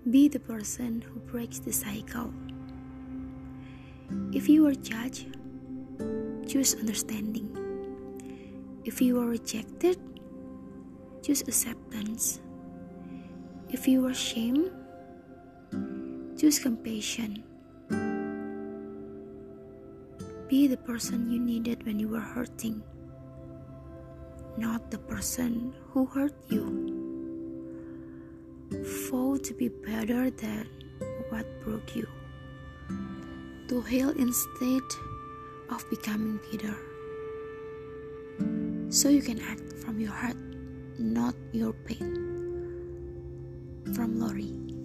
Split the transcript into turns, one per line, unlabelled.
Be the person who breaks the cycle. If you are judged, choose understanding. If you are rejected, choose acceptance. If you are shamed, choose compassion. Be the person you needed when you were hurting, not the person who hurt you. Vow to be better than what broke you, to heal instead of becoming bitter, so you can act from your heart, not your pain. From Lori.